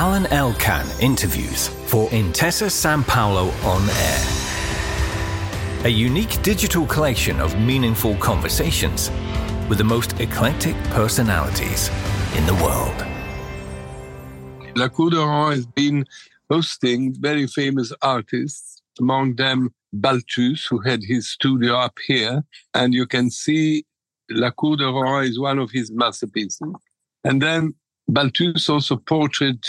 Alan Elkan interviews for Intesa Sanpaolo On Air. A unique digital collection of meaningful conversations with the most eclectic personalities in the world. La Cour d'Oran has been hosting very famous artists, among them Balthus, who had his studio up here. And you can see La Cour d'Oran is one of his masterpieces. And then Balthus also portrayed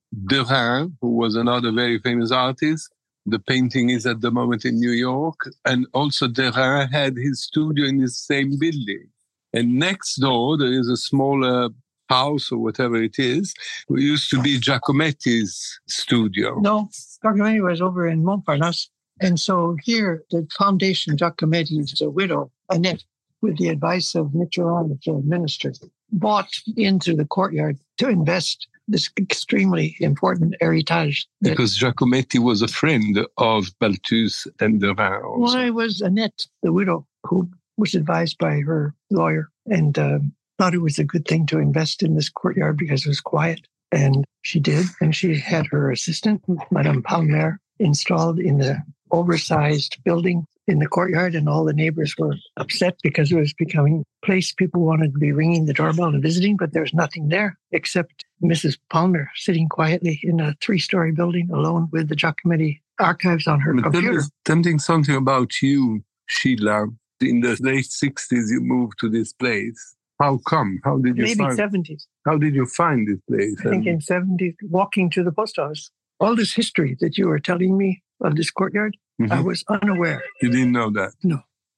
Derain, who was another very famous artist. The painting is at the moment in New York. And also Derain had his studio in the same building. And next door, there is a smaller house or whatever it is, who used to be Giacometti's studio. No, Giacometti was over in Montparnasse. And so here, the foundation, Giacometti's widow, Annette, with the advice of Mitterrand, the minister, bought into the courtyard to invest this extremely important heritage. Because Giacometti was a friend of Balthus and Derain also. Well, it was Annette, the widow, who was advised by her lawyer and thought it was a good thing to invest in this courtyard because it was quiet. And she did. And she had her assistant, Madame Palmer, installed in the oversized building in the courtyard. And all the neighbors were upset because it was becoming a place people wanted to be ringing the doorbell and visiting, but there's nothing there except Mrs. Palmer sitting quietly in a 3-story building alone with the Giacometti archives on her computer. Tell me something about you, Sheila. In the late 60s, you moved to this place. How come? How did you Maybe 70s. How did you find this place? I think in 70s, walking to the post office. All this history that you were telling me of this courtyard, I was unaware. You didn't know that? No.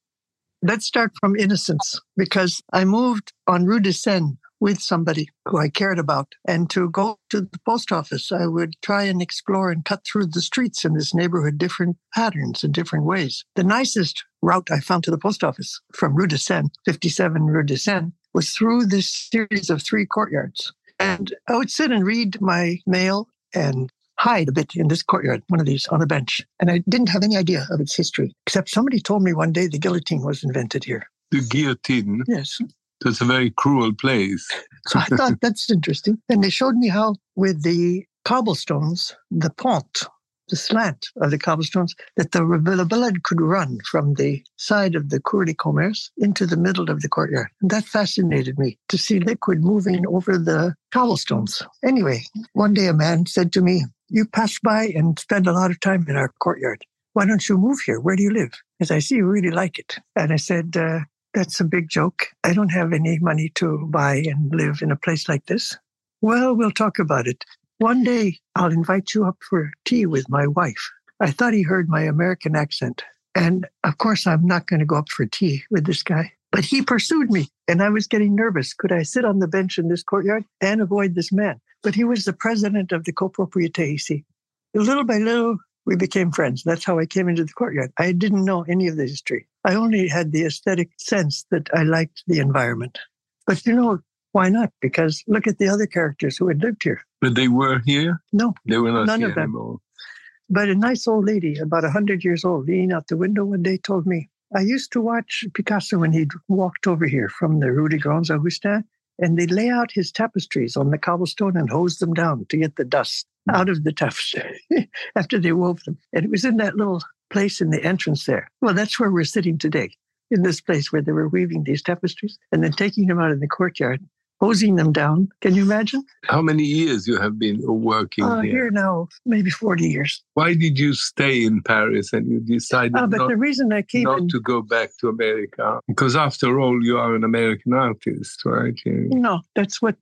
Let's start from innocence, because I moved on Rue de Seine with somebody who I cared about. And to go to the post office, I would try and explore and cut through the streets in this neighborhood, different patterns and different ways. The nicest route I found to the post office from Rue de Seine, 57 Rue de Seine, was through this series of 3 courtyards. And I would sit and read my mail and hide a bit in this courtyard, one of these on a bench. And I didn't have any idea of its history, except somebody told me one day the guillotine was invented here. The guillotine? Yes. It's a very cruel place. So I thought that's interesting. And they showed me how with the cobblestones, the pont, the slant of the cobblestones, that the blood could run from the side of the Cour de Commerce into the middle of the courtyard. And that fascinated me, to see liquid moving over the cobblestones. Anyway, one day a man said to me, "You pass by and spend a lot of time in our courtyard. Why don't you move here? Where do you live?" As I see you really like it. And I said, "That's a big joke. I don't have any money to buy and live in a place like this." "Well, we'll talk about it. One day I'll invite you up for tea with my wife." I thought he heard my American accent. And of course, I'm not going to go up for tea with this guy. But he pursued me, and I was getting nervous. Could I sit on the bench in this courtyard and avoid this man? But he was the president of the copropriété, you see. Little by little, we became friends. That's how I came into the courtyard. I didn't know any of the history. I only had the aesthetic sense that I liked the environment. But why not? Because look at the other characters who had lived here. But they were here? No. They were not none here of them. anymore. But a nice old lady, about 100 years old, leaning out the window one day told me, "I used to watch Picasso when he'd walked over here from the Rue des Grands Augustins, and they'd lay out his tapestries on the cobblestone and hose them down to get the dust out of the tapestry after they wove them. And it was in that little place in the entrance there. Well, that's where we're sitting today, in this place where they were weaving these tapestries and then taking them out in the courtyard, hosing them down. Can you imagine? How many years you have been working here? Here now, maybe 40 years. Why did you stay in Paris and you decided the reason I came not to go back to America? Because after all, you are an American artist, right? No, that's what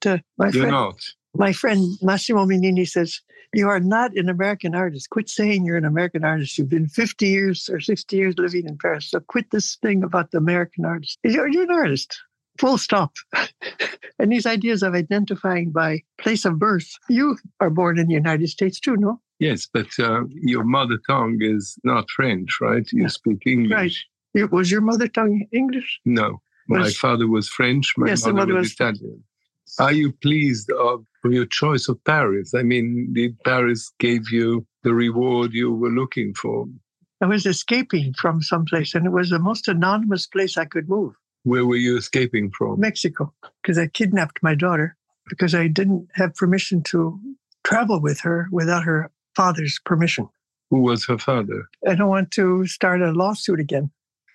my friend Massimo Minini says. "You are not an American artist. Quit saying you're an American artist. You've been 50 years or 60 years living in Paris. So quit this thing about the American artist. You're an artist. Full stop." And these ideas of identifying by place of birth. You are born in the United States too, no? Yes, but your mother tongue is not French, right? You speak English. Right. Was your mother tongue English? No. My father was French. My mother was Italian. Are you pleased of your choice of Paris? I mean, did Paris give you the reward you were looking for? I was escaping from someplace, and it was the most anonymous place I could move. Where were you escaping from? Mexico, because I kidnapped my daughter because I didn't have permission to travel with her without her father's permission. Who was her father? I don't want to start a lawsuit again.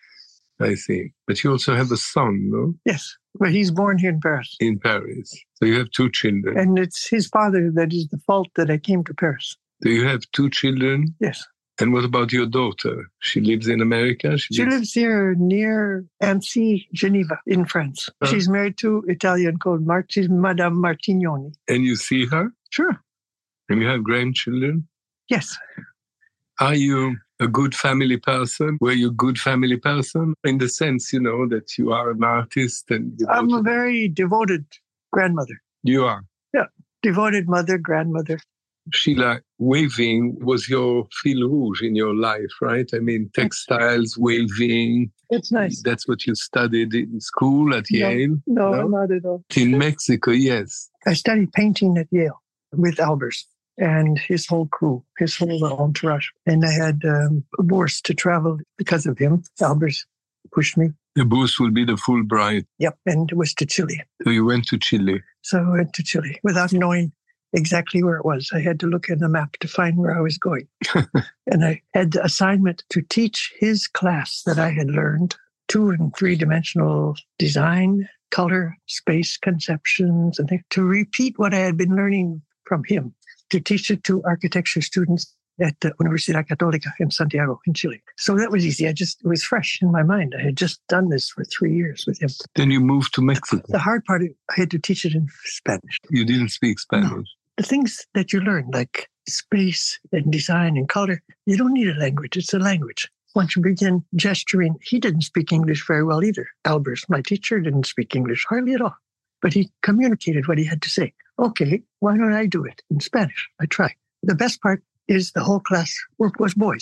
I see. But you also have a son, no? Yes, but he's born here in Paris. In Paris. So you have 2 children. And it's his father that is the fault that I came to Paris. Do you have 2 children? Yes. And what about your daughter? She lives in America? She lives here near Annecy, Geneva, in France. She's married to Italian called Madame Martignoni. And you see her? Sure. And you have grandchildren? Yes. Are you a good family person? Were you a good family person? In the sense, that you are an artist and... I'm a very devoted grandmother. You are? Yeah. Devoted mother, grandmother. Sheila, weaving was your fil rouge in your life, right? I mean, textiles, weaving. It's nice. That's what you studied in school at Yale? No, not at all. In Mexico, yes. I studied painting at Yale with Albers and his whole crew, his whole entourage. And I had a bourse to travel because of him. Albers pushed me. The bourse will be the Fulbright. Yep, and it was to Chile. So you went to Chile. So I went to Chile without knowing exactly where it was. I had to look at the map to find where I was going. And I had the assignment to teach his class that I had learned 2- and 3-dimensional design, color, space conceptions, and to repeat what I had been learning from him, to teach it to architecture students at the Universidad Católica in Santiago, in Chile. So that was easy. It was fresh in my mind. I had just done this for 3 years with him. Then you moved to Mexico. The hard part, I had to teach it in Spanish. You didn't speak Spanish? No. The things that you learn, like space and design and color, you don't need a language. It's a language. Once you begin gesturing, he didn't speak English very well either. Albers, my teacher, didn't speak English hardly at all. But he communicated what he had to say. Okay, why don't I do it in Spanish? I try. The best part is the whole class was boys.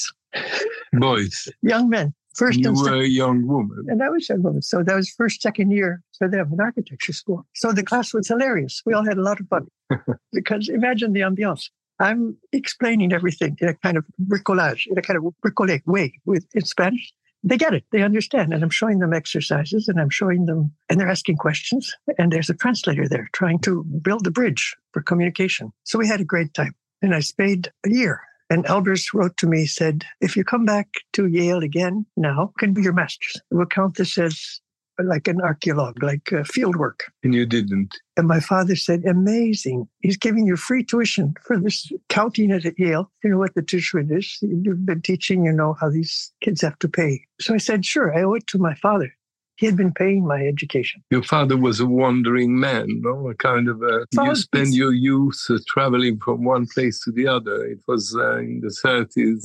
Boys. Young men. First you and were a young woman. And I was a young woman. So that was first, second year for them in architecture school. So the class was hilarious. We all had a lot of fun. Because imagine the ambiance. I'm explaining everything in a kind of bricolage, in a kind of bricolé way in Spanish. They get it. They understand. And I'm showing them exercises and I'm showing them, and they're asking questions. And there's a translator there trying to build a bridge for communication. So we had a great time. And I stayed a year. And Albers wrote to me, said, if you come back to Yale again now, can be your master's. We'll count this as like an archaeologue, like field work. And you didn't. And my father said, amazing. He's giving you free tuition for this, counting it at Yale. You know what the tuition is. You've been teaching, you know how these kids have to pay. So I said, sure, I owe it to my father. He had been paying my education. Your father was a wandering man, no? A kind of you spend your youth traveling from one place to the other. It was in the 30s.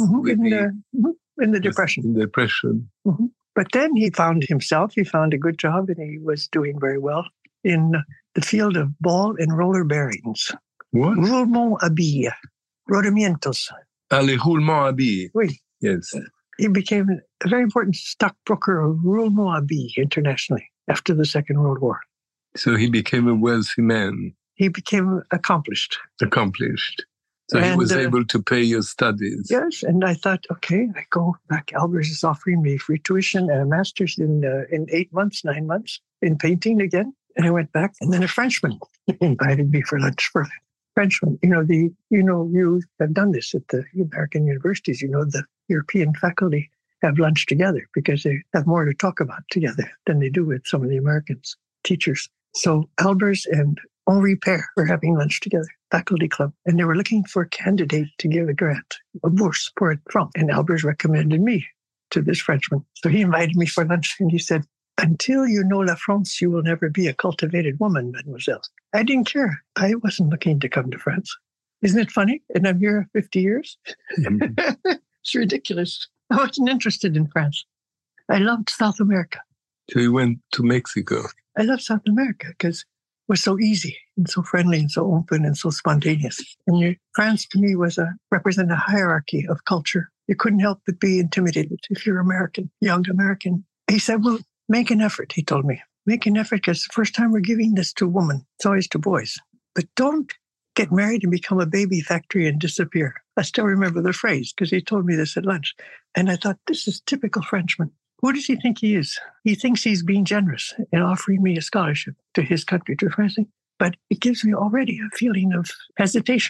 In the Depression. In the Depression. Mm-hmm. But then he found himself. He found a good job and he was doing very well in the field of ball and roller bearings. What? Roulement à billes. Rodamientos. Les roulements à billes. Oui. Yes. He became a very important stockbroker of roulement à billes internationally after the Second World War. So he became a wealthy man. He became accomplished. So he was able to pay your studies. Yes, and I thought, okay, I go back. Albers is offering me free tuition and a master's in 8 months, 9 months in painting again. And I went back, and then a Frenchman invited me for lunch. Frenchman, you have done this at the American universities. You know, the European faculty have lunch together because they have more to talk about together than they do with some of the Americans, teachers. So Albers and Henri Père were having lunch together, faculty club, and they were looking for a candidate to give a grant, a bourse pour être franc. And Albers recommended me to this Frenchman. So he invited me for lunch and he said, until you know La France, you will never be a cultivated woman, mademoiselle. I didn't care. I wasn't looking to come to France. Isn't it funny? And I'm here 50 years. It's ridiculous. I wasn't interested in France. I loved South America. So you went to Mexico. I love South America because it was so easy and so friendly and so open and so spontaneous. And France to me represented a hierarchy of culture. You couldn't help but be intimidated if you're American, young American. He said, well, make an effort, he told me. Make an effort because the first time we're giving this to a woman, it's always to boys. But don't get married and become a baby factory and disappear. I still remember the phrase because he told me this at lunch. And I thought, this is typical Frenchman. Who does he think he is? He thinks he's being generous and offering me a scholarship to his country, to France. But it gives me already a feeling of hesitation.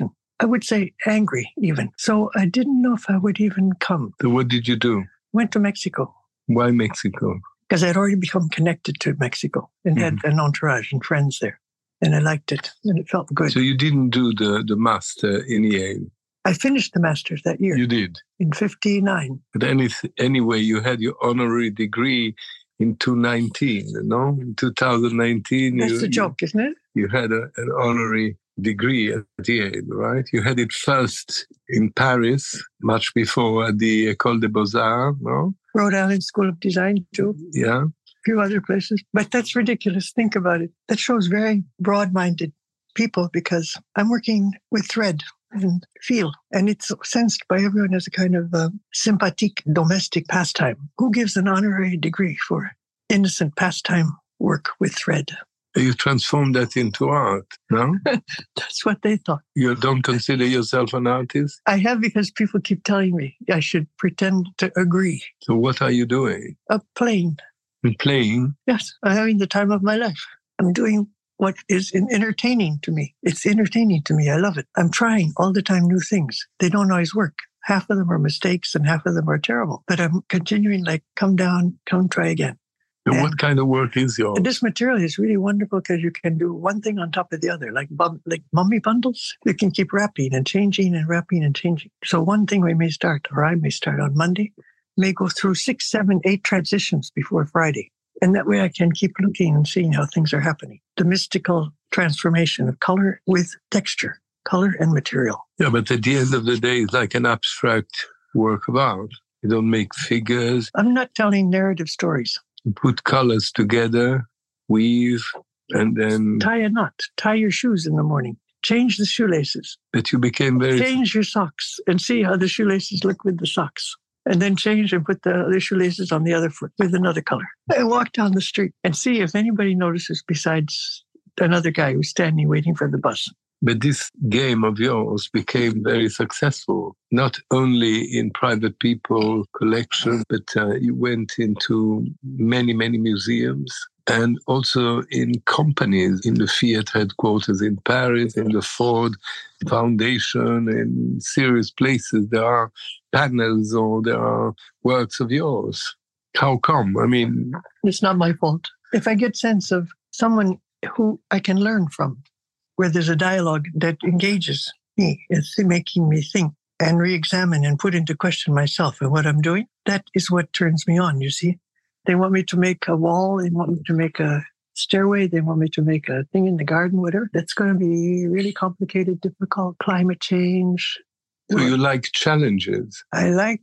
I would say angry even. So I didn't know if I would even come. So what did you do? Went to Mexico. Why Mexico? Because I'd already become connected to Mexico and had an entourage and friends there. And I liked it and it felt good. So you didn't do the master in Yale? I finished the master's that year. You did? In 1959. But anyway, you had your honorary degree in 2019, no? In 2019. That's the joke, isn't it? You had an honorary degree at Yale, right? You had it first in Paris, much before at the École des Beaux-Arts, no? Rhode Island School of Design, too. Yeah. A few other places. But that's ridiculous. Think about it. That shows very broad-minded people because I'm working with thread and feel, and it's sensed by everyone as a kind of sympathique domestic pastime. Who gives an honorary degree for innocent pastime work with thread? You transformed that into art, no? That's what they thought. You don't consider yourself an artist? I have, because people keep telling me I should pretend to agree. So what are you doing? Playing. You're playing? Yes, I'm having the time of my life. I'm doing what is entertaining to me. It's entertaining to me. I love it. I'm trying all the time new things. They don't always work. Half of them are mistakes and half of them are terrible. But I'm continuing, like, come down, come try again. And what kind of work is yours? This material is really wonderful because you can do one thing on top of the other, like mummy bundles. You can keep wrapping and changing and wrapping and changing. So one thing we may start, or I may start on Monday, may go through 6, 7, 8 transitions before Friday. And that way I can keep looking and seeing how things are happening. The mystical transformation of color with texture, color and material. Yeah, but at the end of the day, it's like an abstract work of art. You don't make figures. I'm not telling narrative stories. You put colors together, weave, and then... Tie a knot. Tie your shoes in the morning. Change the shoelaces. But you became very... Change your socks and see how the shoelaces look with the socks. And then change and put the other shoelaces on the other foot with another color. And walk down the street and see if anybody notices besides another guy who's standing waiting for the bus. But this game of yours became very successful, not only in private people collection, but you went into many, many museums and also in companies, in the Fiat headquarters in Paris, in the Ford Foundation, in serious places. There are panels or there are works of yours. How come? I mean... It's not my fault. If I get sense of someone who I can learn from, where there's a dialogue that engages me, it's making me think and re-examine and put into question myself and what I'm doing, that is what turns me on, you see. They want me to make a wall, they want me to make a stairway, they want me to make a thing in the garden, whatever. That's going to be really complicated, difficult, climate change. So you like challenges? I like...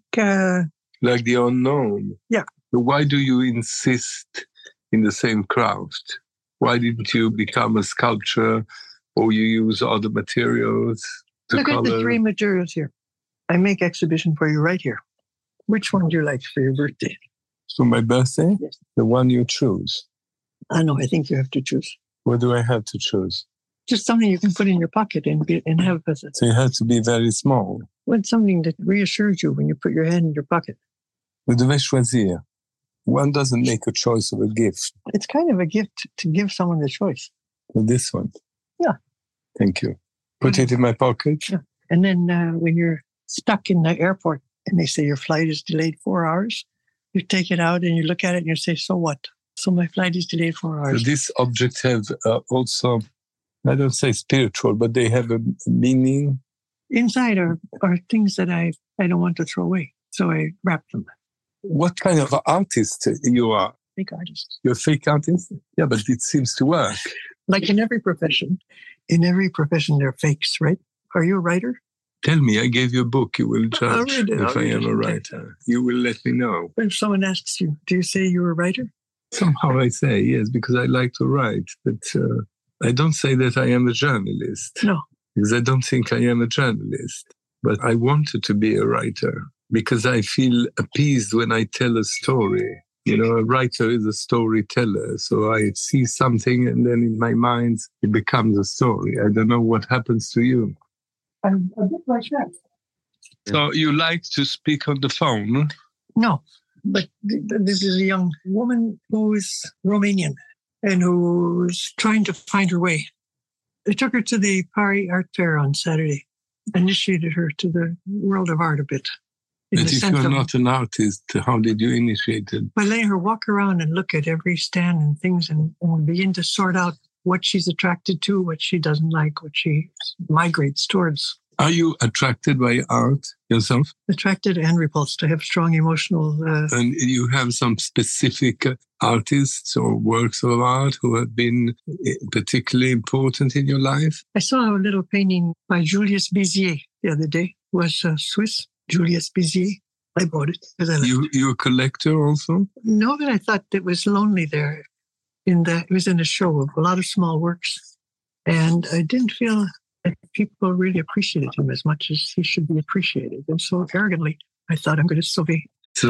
like the unknown? Yeah. But why do you insist in the same craft? Why didn't you become a sculptor or you use other materials? Look at the 3 materials here. I make exhibition for you right here. Which one do you like for your birthday? For my birthday? Yes. The one you choose. I know, I think you have to choose. What do I have to choose? Just something you can put in your pocket and have as a... So you have to be very small. Well, something that reassures you when you put your hand in your pocket. Vous devez choisir. One doesn't make a choice of a gift. It's kind of a gift to give someone the choice. For this one? Yeah. Thank you. Put it in my pocket? Yeah. And then when you're stuck in the airport and they say your flight is delayed 4 hours, you take it out and you look at it and you say, so what? So my flight is delayed 4 hours. So these objects have also, I don't say spiritual, but they have a meaning. Inside are things that I don't want to throw away. So I wrap them. What kind of artist you are? Fake artist. You're a fake artist? Yeah, but it seems to work. Like in every profession. In every profession, there are fakes, right? Are you a writer? Tell me, I gave you a book. You will judge if I am a Okay. writer. You will let me know. If someone asks you, do you say you're a writer? Somehow I say yes, because I like to write. But I don't say that I am a journalist. No. Because I don't think I am a journalist. But I wanted to be a writer because I feel appeased when I tell a story. You know, a writer is a storyteller. So I see something and then in my mind, it becomes a story. I don't know what happens to you. I'm a bit like that. So you like to speak on the phone? No, but this is a young woman who is Romanian and who's trying to find her way. I took her to the Paris Art Fair on Saturday. initiated her to the world of art a bit. But if you're not an artist, how did you initiate it? By letting her walk around and look at every stand and things and begin to sort out what she's attracted to, what she doesn't like, what she migrates towards. Are you attracted by art yourself? Attracted and repulsed. I have strong emotional... And you have some specific artists or works of art who have been particularly important in your life? I saw a little painting by Julius Bizier the other day. It was Swiss, Julius Bizier. I bought it because I liked it. You a collector also? No, but I thought it was lonely there. It was in a show of a lot of small works. And I didn't feel that people really appreciated him as much as he should be appreciated. And so arrogantly, I thought I'm going to sauver.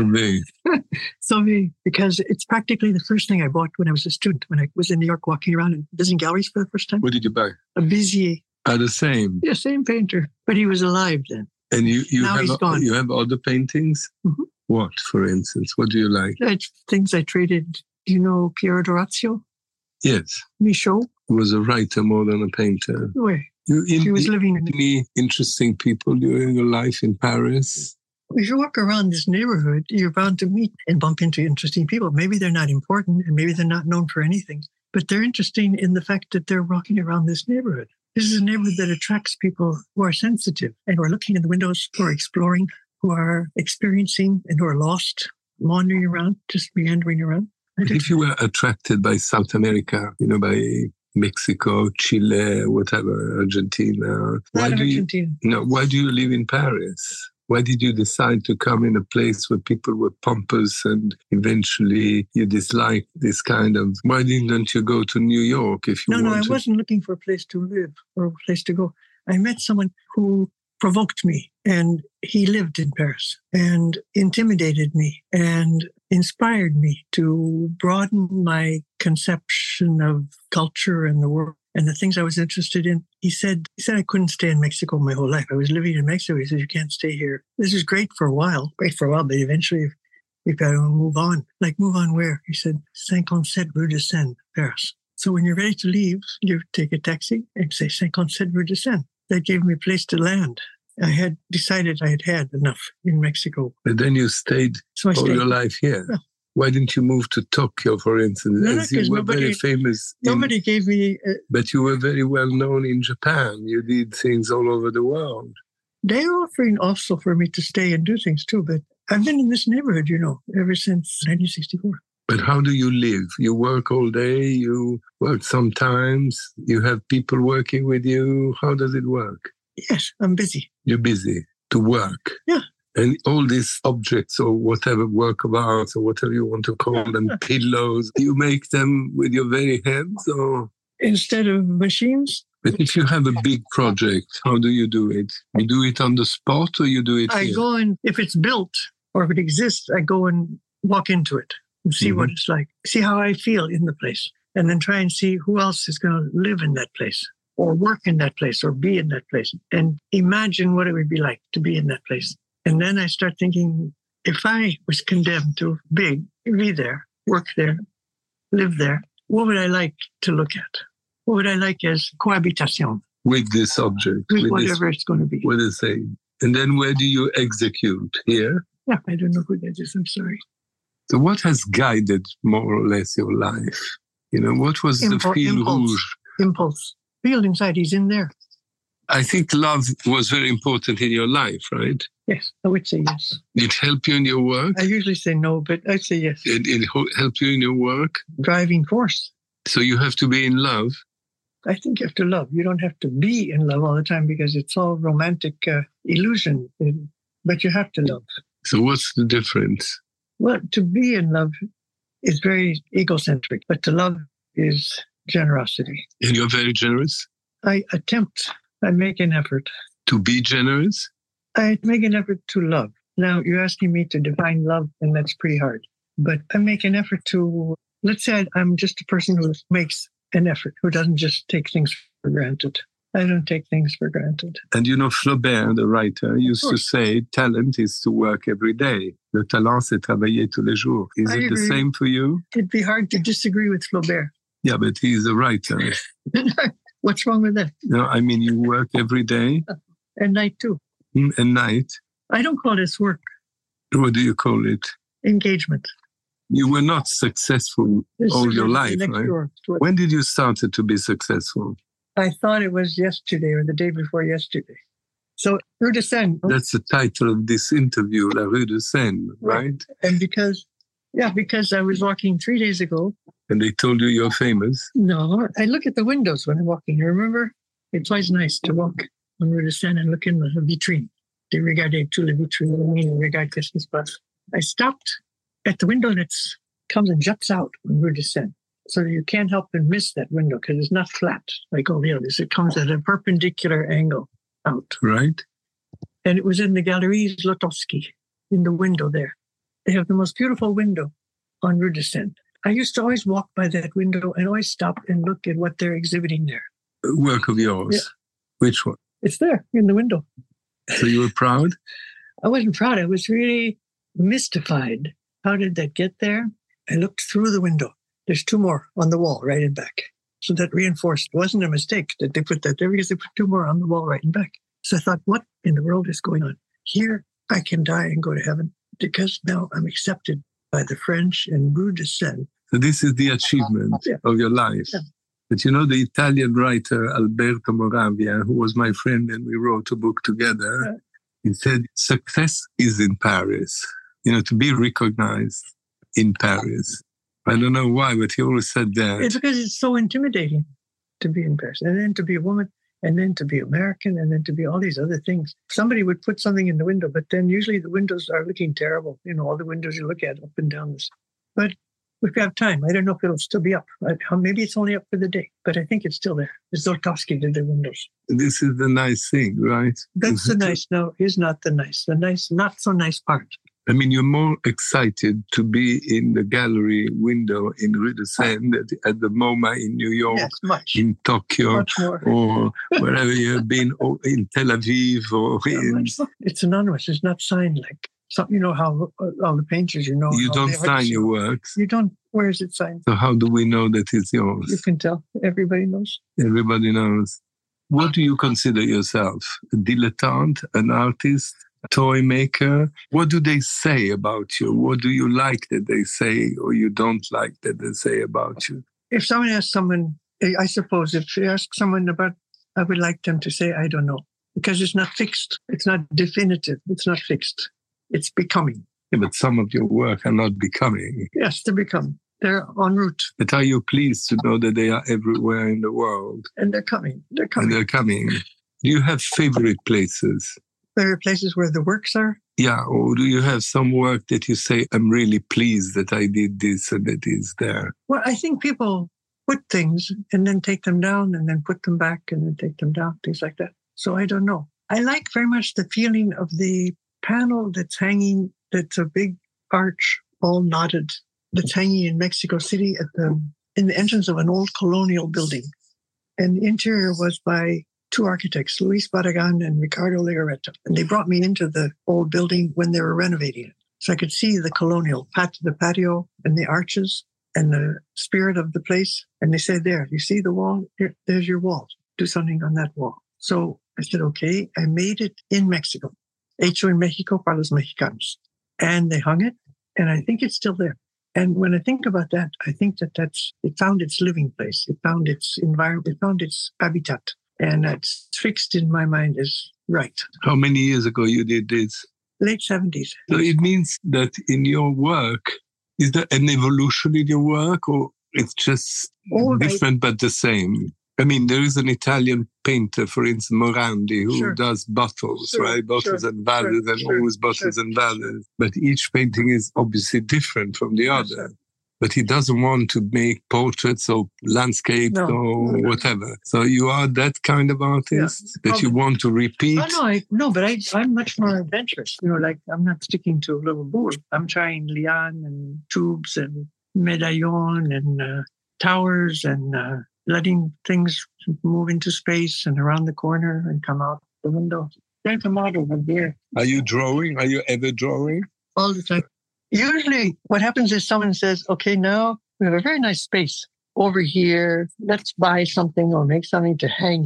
Sauver, because it's practically the first thing I bought when I was a student, when I was in New York walking around and visiting galleries for the first time. What did you buy? A Bizier. The same? Yeah, same painter. But he was alive then. And you he's gone. You have other paintings? Mm-hmm. What, for instance? What do you like? Things I traded. Do you know Piero d'Orazio? Yes. Michaud? He was a writer more than a painter. Where? He was living in... Any interesting people during your life in Paris? If you walk around this neighborhood, you're bound to meet and bump into interesting people. Maybe they're not important and maybe they're not known for anything, but they're interesting in the fact that they're walking around this neighborhood. This is a neighborhood that attracts people who are sensitive and who are looking in the windows, who are exploring, who are experiencing and who are lost, wandering around, just meandering around. If you were attracted by South America, by Mexico, Chile, whatever, Argentina, why do you live in Paris? Why did you decide to come in a place where people were pompous and eventually you disliked this kind of... Why didn't you go to New York if you wanted? No, I wasn't looking for a place to live or a place to go. I met someone who provoked me, and he lived in Paris and intimidated me and inspired me to broaden my conception of culture and the world and the things I was interested in. He said I couldn't stay in Mexico my whole life. I was living in Mexico. He said, you can't stay here. This is great for a while, but eventually you've got to move on. Like, move on where? He said, 57 Rue de Seine, Paris. So when you're ready to leave, you take a taxi and say 57 Rue de Seine. That gave me a place to land. I had decided I had enough in Mexico. But then you stayed your life here. Yeah. Why didn't you move to Tokyo, for instance? No, you were very famous. Nobody gave me... But you were very well known in Japan. You did things all over the world. They were offering also for me to stay and do things too, but I've been in this neighborhood, ever since 1964. But how do you live? You work all day, you work sometimes, you have people working with you. How does it work? Yes, I'm busy. You're busy to work? Yeah. And all these objects or whatever, work of art or whatever you want to call them, pillows, you make them with your very hands or? Instead of machines? But if you have a big project, how do you do it? You do it on the spot or you do it here? I go in, if it's built or if it exists, I go and walk into it and see what it's like, see how I feel in the place, and then try and see who else is going to live in that place or work in that place or be in that place and imagine what it would be like to be in that place. And then I start thinking, if I was condemned to be there, work there, live there, what would I like to look at? What would I like as cohabitation? With this object. With whatever it's going to be. With the same. And then where do you execute? Here? Yeah, I don't know who that is. I'm sorry. So what has guided more or less your life? What was the fil rouge? Impulse. Feel inside. He's in there. I think love was very important in your life, right? Yes, I would say yes. Did it help you in your work? I usually say no, but I'd say yes. It helped you in your work? Driving force. So you have to be in love? I think you have to love. You don't have to be in love all the time because it's all romantic illusion, but you have to love. So what's the difference? Well, to be in love is very egocentric, but to love is generosity. And you're very generous? I make an effort. To be generous? I make an effort to love. Now, you're asking me to define love, and that's pretty hard. But I make an effort to, let's say I'm just a person who makes an effort, who doesn't just take things for granted. I don't take things for granted. And Flaubert, the writer, used to say, talent is to work every day. Le talent, c'est travailler tous les jours. Is it the same for you? It'd be hard to disagree with Flaubert. Yeah, but he's a writer. What's wrong with that? No, I mean, you work every day. At night too. At night? I don't call this work. What do you call it? Engagement. You were not successful all your life, right? Door. When did you start to be successful? I thought it was yesterday or the day before yesterday. So, Rue de Seine. That's the title of this interview, La Rue de Seine, right? And because I was walking 3 days ago. And they told you you're famous? No, I look at the windows when I'm walking. You remember? It's always nice to walk on Rue de Seine and look in the vitrine. De regarder tout le vitrine, regarde qu'est-ce qui se passe. I stopped at the window and it comes and juts out on Rue de Seine. So you can't help but miss that window because it's not flat like all the others. It comes at a perpendicular angle out. Right. And it was in the Galeries Zlotowski, in the window there. They have the most beautiful window on Rue de Seine. I used to always walk by that window and always stop and look at what they're exhibiting there. Work of yours? Yeah. Which one? It's there in the window. So you were proud? I wasn't proud. I was really mystified. How did that get there? I looked through the window. There's 2 more on the wall, right and back. So that reinforced. It wasn't a mistake that they put that there because they put 2 more on the wall, right and back. So I thought, what in the world is going on? Here, I can die and go to heaven because now I'm accepted by the French in Rue de Seine. So this is the achievement of your life. Yeah. But you know, the Italian writer Alberto Moravia, who was my friend and we wrote a book together, he said, success is in Paris. You know, to be recognized in Paris. I don't know why, but he always said that. It's because it's so intimidating to be in Paris. And then to be a woman, and then to be American, and then to be all these other things. Somebody would put something in the window, but then usually the windows are looking terrible. You know, all the windows you look at up and down this. But if we have time, I don't know if it'll still be up. Maybe it's only up for the day, but I think it's still there. Zlotowski did the windows. This is the nice thing, right? That's the nice. No, is not the nice. The nice, not so nice part. I mean, you're more excited to be in the gallery window in Rue de Seine at the MoMA in New York, in Tokyo, or wherever you have been, or in Tel Aviv, or in... It's anonymous. It's not signed like some. You know how all the painters, you know. You don't sign your works. You don't. Where is it signed? So how do we know that it's yours? You can tell. Everybody knows. Everybody knows. What do you consider yourself? A dilettante, an artist? Toy maker? What do they say about you? What do you like that they say or you don't like that they say about you? If someone asks someone, I suppose if you ask someone about, I would like them to say, I don't know, because it's not fixed. It's not definitive. It's not fixed. It's becoming. Yeah, but some of your work are not becoming. Yes, they're becoming. They're en route. But are you pleased to know that they are everywhere in the world? And they're coming. They're coming. And they're coming. Do you have favorite places? There are places where the works are? Yeah, or do you have some work that you say, I'm really pleased that I did this and it is there? Well, I think people put things and then take them down and then put them back and then take them down, things like that. So I don't know. I like very much the feeling of the panel that's hanging, that's a big arch, all knotted, that's hanging in Mexico City in the entrance of an old colonial building. And the interior was by 2 architects, Luis Barragan and Ricardo Legarreta. And they brought me into the old building when they were renovating it. So I could see the colonial, the patio and the arches and the spirit of the place. And they said, there, you see the wall? There's your wall. Do something on that wall. So I said, okay. I made it in Mexico. Hecho en Mexico para los mexicanos. And they hung it. And I think it's still there. And when I think about that, I think it found its living place. It found its environment. It found its habitat. And that's fixed in my mind as right. How many years ago you did this? Late 70s. So it means that in your work, is there an evolution in your work or it's just different but the same? I mean, there is an Italian painter, for instance, Morandi, who does bottles, right? Bottles and vases and always bottles and vases. But each painting is obviously different from the other. But he doesn't want to make portraits or landscapes or whatever. So you are that kind of artist that you want to repeat? I'm much more adventurous. You know, like I'm not sticking to a little board. I'm trying liane and tubes and medaillon and towers and letting things move into space and around the corner and come out the window. There's a model right there. Are you drawing? Are you ever drawing? All the time. Usually what happens is someone says, okay, now we have a very nice space over here. Let's buy something or make something to hang here.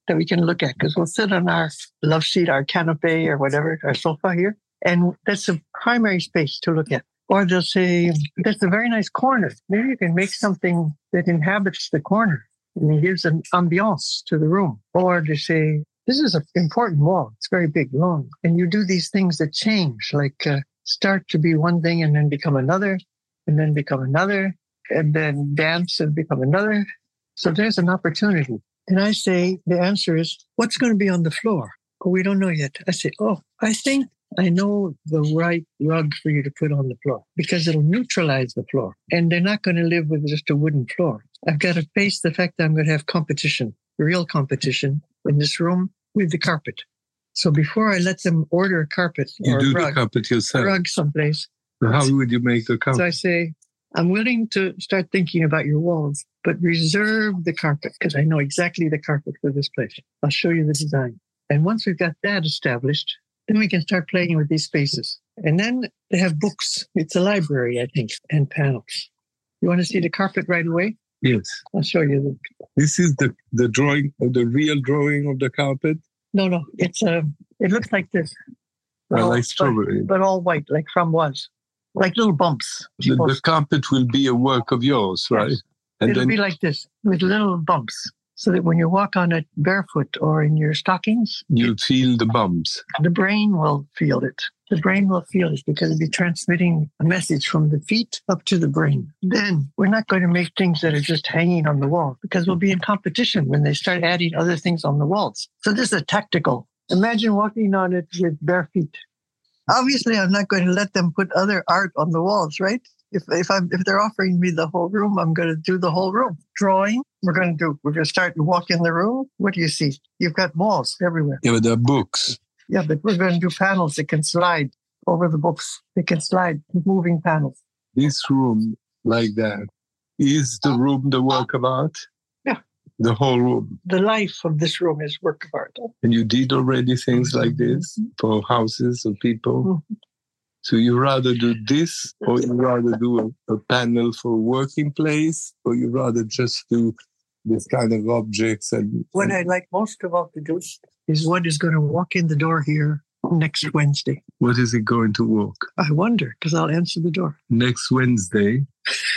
that we can look at, because we'll sit on our love seat, our canapé or whatever, our sofa here, and that's a primary space to look at. Or they'll say, that's a very nice corner. Maybe you can make something that inhabits the corner and it gives an ambiance to the room. Or they say, this is an important wall. It's very big, long. And you do these things that change, like start to be one thing and then become another, and then become another, and then dance and become another. So there's an opportunity. And I say, the answer is, what's going to be on the floor? Oh, we don't know yet. I say, I think I know the right rug for you to put on the floor, because it'll neutralize the floor. And they're not going to live with just a wooden floor. I've got to face the fact that I'm going to have competition, real competition in this room with the carpet. So before I let them order a carpet or you do a rug, the carpet yourself. A rug someplace. So how would you make the carpet? So I say, I'm willing to start thinking about your walls, but reserve the carpet, because I know exactly the carpet for this place. I'll show you the design. And once we've got that established, then we can start playing with these spaces. And then they have books. It's a library, I think, and panels. You want to see the carpet right away? Yes. I'll show you. This is the drawing, the real drawing of the carpet? No. It looks like this. Like strawberry. But all white, like framboise. Like little bumps. The carpet will be a work of yours, right? Yes. And It'll then be like this, with little bumps, so that when you walk on it barefoot or in your stockings, you feel the bumps. The brain will feel it. The brain will feel it because it'll be transmitting a message from the feet up to the brain. Then we're not going to make things that are just hanging on the wall, because we'll be in competition when they start adding other things on the walls. So this is a tactical. Imagine walking on it with bare feet. Obviously, I'm not going to let them put other art on the walls, right? If they're offering me the whole room, I'm going to do the whole room. Drawing, we're going to start to walk in the room. What do you see? You've got walls everywhere. Yeah, but there are books. Yeah, but we're going to do panels that can slide over the books. They can slide, moving panels. This room, like that, is the room the work of art? Yeah. The whole room. The life of this room is work of art. And you did already things like this for houses or people? Mm-hmm. So you rather do this, or you rather do a panel for a working place, or you rather just do this kind of objects? What I like most of all to do is what is going to walk in the door here next Wednesday. What is it going to walk? I wonder, because I'll answer the door. Next Wednesday?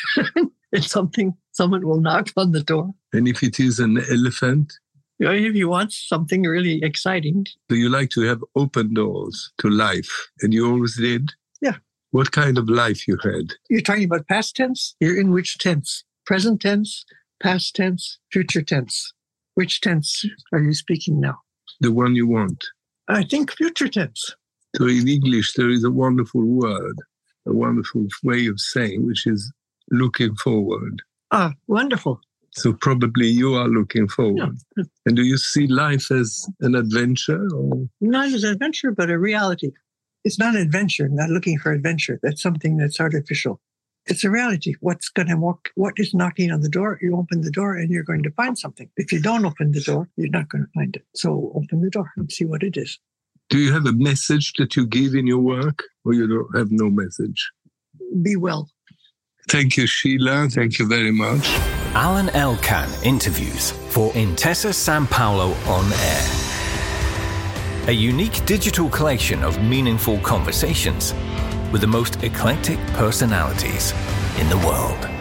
It's something, someone will knock on the door. And if it is an elephant? If you want something really exciting. So you like to have open doors to life, and you always did? Yeah. What kind of life you had? You're talking about past tense? You're in which tense? Present tense, past tense, future tense. Which tense are you speaking now? The one you want. I think future tense. So in English, there is a wonderful word, a wonderful way of saying, which is looking forward. Ah, wonderful. So probably you are looking forward. Yeah. And do you see life as an adventure? Or? Not as an adventure, but a reality. It's not an adventure, not looking for adventure. That's something that's artificial. It's a reality. What is knocking on the door? You open the door and you're going to find something. If you don't open the door, you're not going to find it. So open the door and see what it is. Do you have a message that you give in your work, or you don't have no message? Be well. Thank you, Sheila. Thank you very much. Alan Elkan interviews for Intesa Sanpaolo On Air. A unique digital collection of meaningful conversations with the most eclectic personalities in the world.